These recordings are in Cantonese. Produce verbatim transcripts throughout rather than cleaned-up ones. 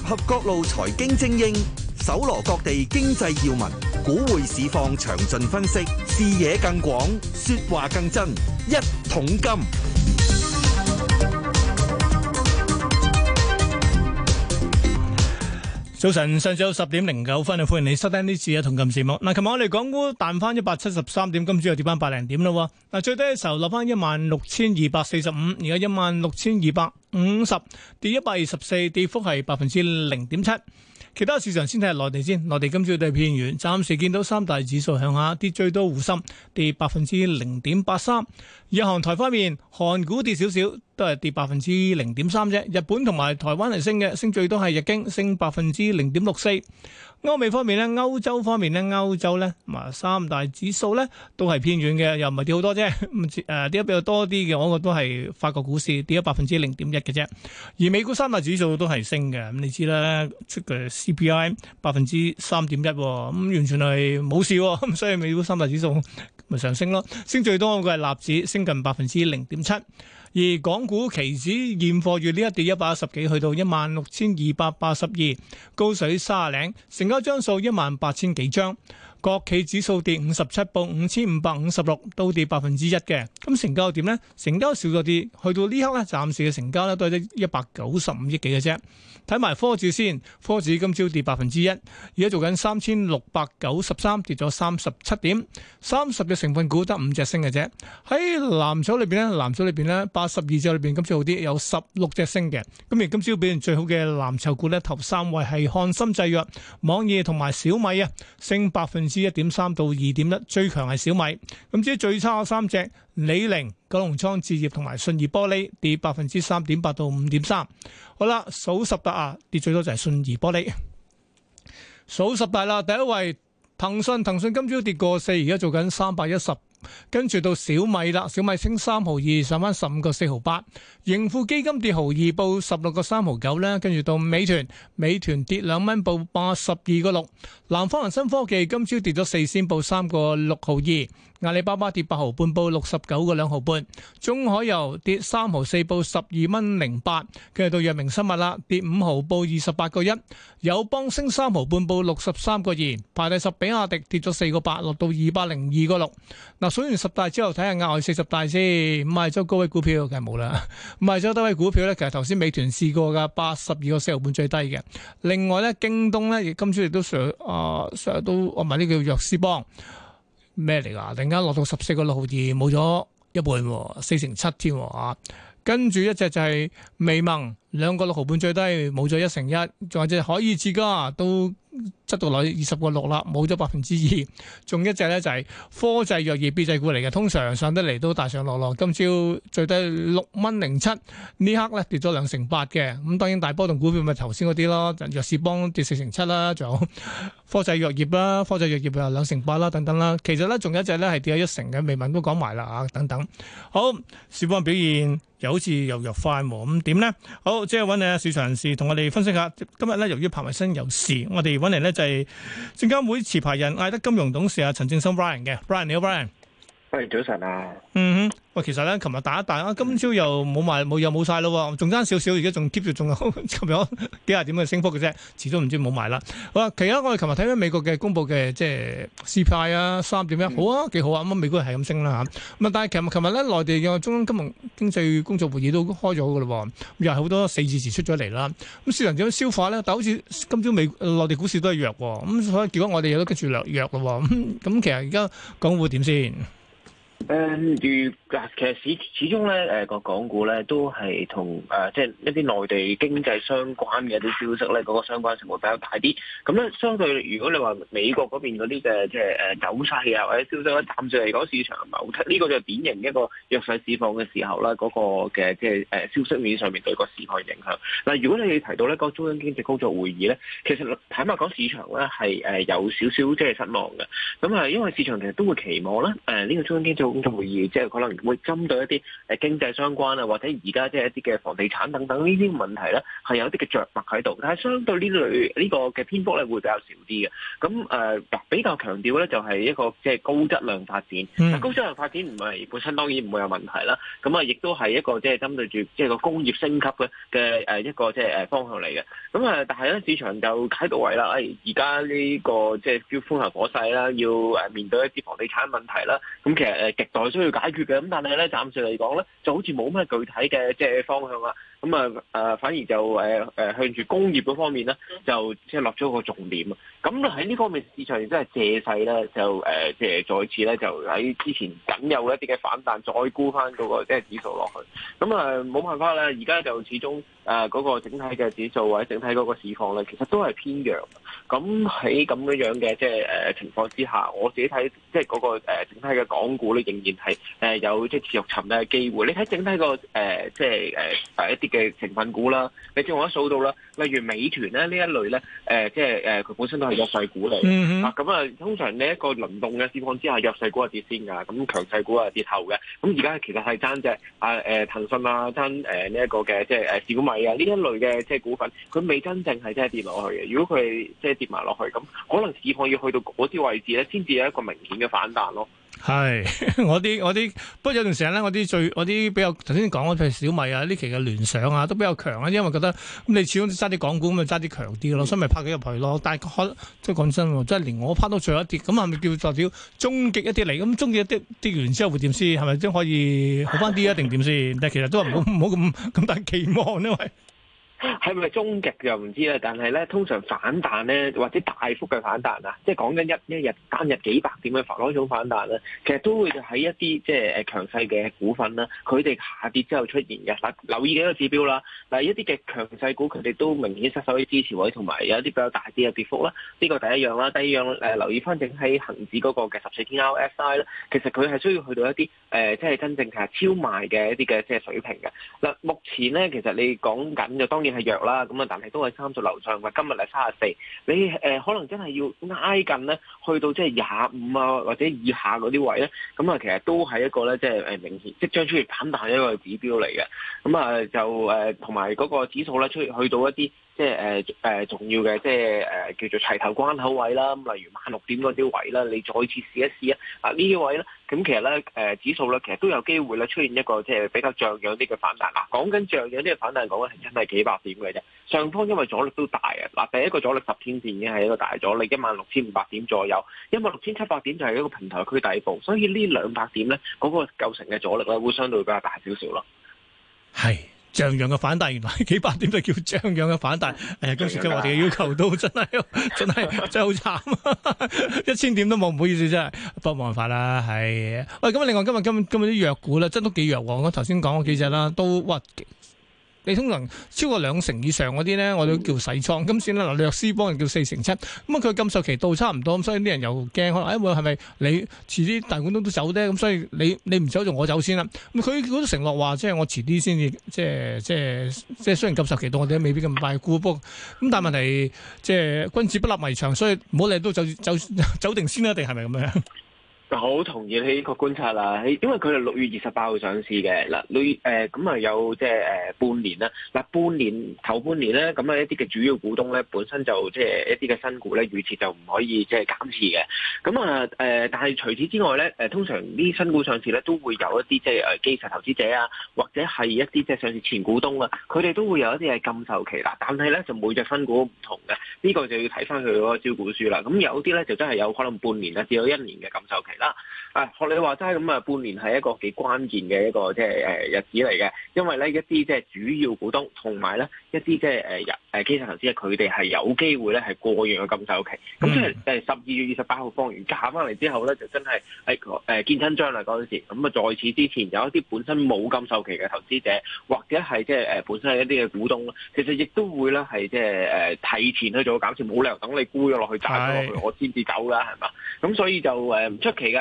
合各路財經精英，搜羅各地經濟要聞，股匯市況詳盡分析，視野更廣，說話更真。一桶金。 早晨，上晝十點零九分啊，歡迎你收聽呢次嘅同金節目。嗱，琴日我哋港股彈翻一百七十三點，今朝又跌翻百零點咯。嗱，最低嘅時候落翻一萬六千二百四十五，而家一萬六千二百五十，跌一百二十四，跌幅係百分之零點七。其他市場先睇下內地先，內地今朝都係偏軟，暫時見到三大指數向下跌，最多滬深跌百分之零點八三。日韓台方面，韓股跌少少，都係跌百分之零點三啫。日本同埋台灣係升嘅，升最多係日經升百分之零點六四。歐美方面咧，歐洲方面咧，歐洲咧，啊三大指數咧都係偏軟嘅，又唔係跌好多啫。咁誒跌得比較多啲嘅，我覺得都係法國股市跌咗百分之零點一嘅啫。而美股三大指數都係升嘅，咁你知啦，出嘅 C P I 百分之三點一，咁完全係冇事，咁所以美股三大指數咪上升咯。升最多嘅係納指，升近百分之零點七。而港股期指現貨月呢一跌一百一十幾，去到一萬六千二百八十二，高水三十零，成交張數一萬八千幾張。國企指數跌五十七，報五千五百五十六，都跌百分之一嘅。咁成交點呢？成交少咗啲，去到呢刻呢，暫時嘅成交呢都係得一百九十五億幾嘅啫。睇埋科指先，科指今朝跌百分之一，而家做緊三千六百九十三，跌咗三十七點，三十隻成分股得五隻升嘅啫。喺藍籌裏邊呢，藍籌裏邊呢，八十二隻裏邊今朝好啲，有十六隻升嘅。咁而今朝表現最好嘅藍籌股呢，頭三位係漢森製藥、網易同埋小米啊，升百分之一點三到二點一，最強係小米。咁至於最差嘅三隻，李寧、九龍倉置業同埋信義玻璃跌百分之三點八到五點三。好啦，數十大啊，跌最多就係信義玻璃。數十大啦，第一位騰訊，騰訊今朝跌過四，而家做緊三百一十。跟住到小米啦，小米升三毫二，上翻十五個四毫八。盈富基金跌毫二，報十六個三毫九咧。跟住到美團，美團跌兩蚊，報八十二個六。南方恒生科技今朝跌咗四仙，報三個六毫二。阿里巴巴跌八毫半，報六十九個兩毫半。中海油跌三毫四，報十二蚊零八。跟住到藥明生物啦，跌五毫，報二十八個一。友邦升三毫半，報六十三個二。排第十，比亞迪跌咗四個八，落到二百零二個六。嗱，數完十大之後，睇下額外四十大先。五十周高位股票梗係冇啦。五十周低位股票咧，其實頭先美團試過噶，八十二個四毫半最低嘅。另外咧，京東咧亦今朝亦都上啊，上、呃、都我埋呢叫藥師幫。咩嚟噶？突然間落到十四個六毫二，冇咗一半，四成七添啊！跟住一隻就係微盟，兩個六毫半最低，冇咗一成一，仲有隻海爾智家都執到落二十個六啦，冇咗百分之二。仲一隻咧就係科濟藥業 B 製股嚟嘅，通常上得嚟都大上落落。今朝最低六蚊零七，呢刻咧跌咗兩成八嘅。咁當然大波動股票咪頭先嗰啲咯，藥士邦跌四成七啦，仲有科濟藥業啦，科濟藥業又兩成八啦，等等啦。其實咧仲有一隻咧係跌咗一成嘅，微盟都講埋啦啊，等等。好，市況表現又好似又弱翻喎，咁點呢？好，即係揾你市場人士同我哋分析下。今日咧由於彭偉新有事，我哋揾嚟咧就係證監會持牌人艾德金融董事啊陳正森 Brian 嘅 Brian， 你好 Brian。 喂，早晨啊。 嗯哼，喂，其實咧，琴日打一打啊，今朝又冇賣，冇又冇晒咯，仲爭少少，而家仲 keep 住，仲有琴日幾廿點嘅升幅嘅啫，遲都唔知冇賣啦。好啦，其他我哋琴日睇翻美國嘅公佈嘅即係 C P I 啊，三點一，好啊，幾好啊，咁啊，美股係咁升啦嚇。咁啊，但係琴日琴日咧，內地嘅中央金融經濟工作會議都開咗嘅咯，又係好多四字詞出咗嚟啦。咁市場點樣消化咧？但好似今朝美內地股市都係弱喎，咁所以結果我哋又都跟住弱弱咯。咁咁其實而家港股點先？ 誒，如嗱，其實始始終咧，誒個港股咧都係同誒即係一啲內地經濟相關嘅一啲消息咧，嗰個相關性會比較大啲。咁咧，相對如果你話美國嗰邊嗰啲嘅即係誒走勢啊或者消息咧，暫時嚟講市場唔係好睇，呢個就係典型一個弱勢市況嘅時候啦，嗰個嘅即係誒消息面上面對個市況影響。嗱，如果你提到咧個中央經濟工作會議咧，其實坦白講，市場咧係誒有少少即係失望嘅。咁啊，因為市場其實都會期望咧誒呢個中央經濟中就會議，即係可能會針對一啲誒經濟相關啊，或者而家即係一啲嘅房地產等等呢啲問題咧，係有啲嘅着墨喺度。但係相對呢類呢個嘅篇幅咧會比較少啲嘅。咁誒、呃、比較強調咧就係一個即係高質量發展。嗯、高質量發展唔係本身當然唔會有問題啦。咁啊亦都係一個即係針對住即係個工業升級嘅嘅誒一個即係誒方向嚟嘅。咁啊但係咧市場就解讀為啦，誒而家呢個即係叫風頭火勢啦，要誒面對一啲房地產問題啦。咁其實誒極待需要解決嘅。咁但係咧暫時嚟講咧，就好似冇咩具體嘅即係方向啦。咁啊誒反而就誒誒向住工業嗰方面咧，就即係落咗個重點啊。咁喺呢方面市場亦都係借勢咧，就誒即係再次咧，就喺之前僅有一啲嘅反彈，再沽翻嗰個即係指數落去。咁啊冇辦法啦，而家就始終誒嗰個整體嘅指數或者整體嗰個市況咧，其實都係偏弱。咁喺咁樣樣嘅即係誒情況之下，我自己睇即係嗰個誒整體嘅港股咧，仍然係誒有即係持續沉底嘅機會。你睇整體個誒即係誒誒一啲嘅成分股啦，你正我一數到啦，例如美團咧呢一類咧，誒即係誒佢本身都係弱勢股嚟。嗯哼。啊咁啊，通常呢一個輪動嘅市況之下，弱勢股係跌先㗎，咁強勢股係跌後嘅。咁而家其實係爭隻啊誒騰訊啊，爭誒呢一個嘅即係誒小米啊呢一類嘅即係股份，佢未真正係真係跌落去嘅。如果佢即係跌埋落去，咁可能市況要去到嗰啲位置咧，先至有一個明顯嘅反彈咯。 係，我啲我啲，不過有段時間咧，我啲最我啲比較頭先講嘅，譬如小米啊，呢期嘅聯想啊，都比較強啊，因為覺得咁你始終揸啲港股咁，咪揸啲強啲咯，所以咪拍咗入去咯。但係可即係講真喎，即係連我拍到最後一跌，咁係咪叫做終極一跌嚟？咁終極一跌跌完之後會點先？係咪先可以好翻啲啊？定點先？但係其實都唔好唔好咁咁大期望，因為。 係咪終極就唔知啦，但係咧通常反彈咧或者大幅嘅反彈啊，即係講緊一一日單日幾百點嘅嗰種反彈咧，其實都會喺一啲即係誒強勢嘅股份啦，佢哋下跌之後出現嘅。嗱，留意幾個指標啦，嗱一啲嘅強勢股佢哋都明顯失守啲支持位，同埋有一啲比較大啲嘅跌幅啦。呢個第一樣啦，第二樣誒、呃、留意翻整喺恆指嗰個嘅十四天 R S I 咧，其實佢係需要去到一啲誒、呃、即係真正係超賣嘅一啲嘅即係水平嘅。嗱，目前咧其實你講緊就當然係弱啦，咁啊，但係都係三十樓上，話今日係三十四，你誒、呃、可能真係要挨近咧，去到即係廿五啊或者以下嗰啲位咧，咁啊，其實都係一個咧，即係誒明顯即將出現反彈一個指標嚟嘅，咁啊就誒同埋嗰個指數咧出去到一啲。即係誒誒重要嘅，即係誒、呃、叫做齊頭關口位啦。咁例如萬六點嗰啲位啦，你再次試一試啊！啊呢啲位咧，咁其實咧誒、呃、指數咧，其實都有機會咧出現一個即係比較像樣啲嘅反彈。嗱，講緊像樣啲嘅反彈，講緊係真係幾百點嘅啫。上方因為阻力都大啊！嗱，第一個阻力十天線已經係一個大阻力，一萬六千五百點左右，一萬六千七百點就係一個平台區底部，所以呢兩百點咧嗰、那個構成嘅阻力咧會相對比較大少少咯。係。像樣嘅反彈，原來幾百點就叫像樣嘅反彈。誒，今次對我哋嘅要求都真係真係真係好慘，一千點都冇，唔好意思真係，不過冇辦法啦，係。喂，咁另外今日今日今日啲藥股咧，真都幾弱喎。我頭先講嗰幾隻啦，都哇。你通常超過兩成以上嗰啲咧，我都叫洗倉。今次咧，嗱，藥師幫人叫四成七，咁啊佢禁售期到差唔多，咁所以啲人又驚，可能誒會係咪你遲啲大股東都走咧？咁所以你你唔走就我走先啦。咁佢嗰啲承諾話，即係我遲啲先至，即係即係即係雖然禁售期到，我哋都未必咁快沽，不過咁但係問題即係君子不立危牆，所以唔好理都走走走定先啦，定係咪咁樣？好同意呢個觀察啦，因為佢係六月二十八號上市嘅嗱，六月誒咁啊有即係誒半年啦，嗱半年頭半年咧，咁啊一啲嘅主要股東咧本身就即係一啲嘅新股咧預設就唔可以即係減持嘅，咁啊誒，但係除此之外咧，誒通常啲新股上市咧都會有一啲即係誒基石投資者啊，或者係一啲即係上市前股東啊，佢哋都會有一啲係禁售期啦，但係咧就每隻新股唔同嘅，呢個就要睇翻佢嗰個招股書啦，咁有啲咧就真係有可能半年啊至到一年嘅禁售期啦。啊，學你話齋咁啊，半年係一個幾關鍵嘅一個即係誒日子嚟嘅，因為咧一啲即係主要股東同埋咧一啲即係誒誒基石投資者，佢哋係有機會咧係過完嘅禁售期。咁即係誒十二月二十八號放完假翻嚟之後咧，就真係誒誒見真章啦嗰陣時。咁啊，在此之前有一啲本身冇禁售期嘅投資者，或者係即係誒本身係一啲嘅股東咧，其實亦都會咧係即係誒提前去做減持，冇理由等你沽咗落去賺咗落去，我先至走㗎，係嘛？咁所以就誒唔出奇㗎。咁我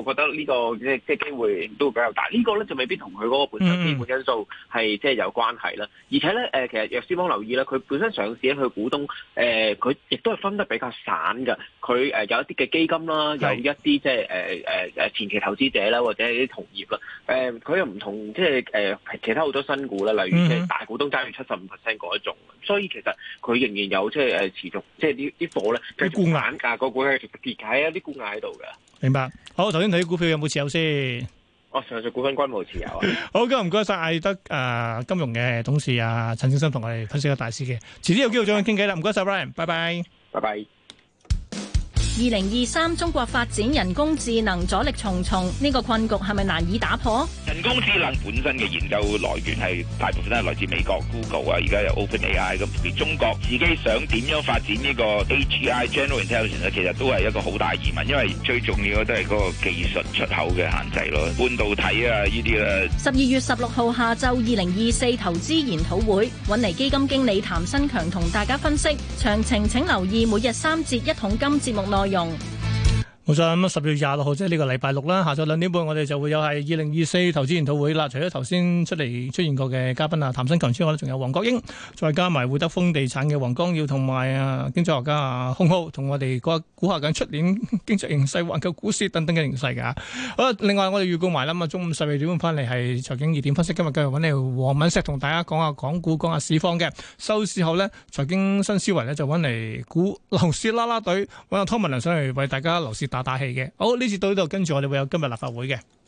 覺得呢、這個即係即係機會都比較大。這個、呢個咧就未必同佢嗰個本身基本因素係即係有關係啦。而且咧誒、呃，其實藥師幫留意咧，佢本身上市咧，佢股東誒佢亦都係分得比較散㗎。佢誒、呃、有一啲嘅基金啦，有一啲即係誒誒誒前期投資者啦，或者係啲同業啦。誒、呃、佢又唔同即係誒、呃、其他好多新股啦，例如即係大股東揸住七十五 percent 嗰一種。所以其實佢仍然有即係誒持續即係啲啲貨咧，繼續反價個股係持續跌緊啊，啲沽壓喺度嘅。 明白。好，頭先睇啲股票有冇持有先？ 哦，上述股份均冇持有啊。 好，今日唔該晒艾德誒、呃、金融嘅董事啊陳正深同我哋分析個大市嘅，遲啲有機會再傾偈啦。唔該晒 Brian，拜拜， 拜拜。 二零二三中國發展人工智能阻力重重，呢個困局係咪難以打破？ 人工智能本身嘅研究來源係大部分都係來自美國 Google 啊，而家有 OpenAI 咁。而中國自己想點樣發展呢個 A G I General Intelligence 咧，其實都係一個好大疑問，因為最重要嘅都係嗰個技術出口嘅限制咯，半導體啊呢啲咧。十二月十六號下晝二零二四投資研討會，揾嚟基金經理譚新強同大家分析詳情，請留意每日三節一桶金節目內容。 冇錯，咁啊十月廿六號即係呢個禮拜六啦，下晝兩點半我哋就會有係二零二四投資研討會啦。除咗頭先出嚟出現過嘅嘉賓啊，譚新強之外咧，仲有黃國英，再加埋會德豐地產嘅黃光耀同埋啊經濟學家啊洪浩，同我哋估下緊出年經濟形勢、環球股市等等嘅形勢噶。好啦，另外我哋預告埋啦，咁啊中午十二點半翻嚟係財經熱點分析，今日繼續揾嚟黃敏石同大家講下港股、講下市況嘅。收市後呢，財經新思維呢就揾嚟估樓市啦啦隊，揾阿湯文亮上嚟為大家樓市打打氣嘅。好，呢次到呢度，跟住我哋會有今日立法會嘅。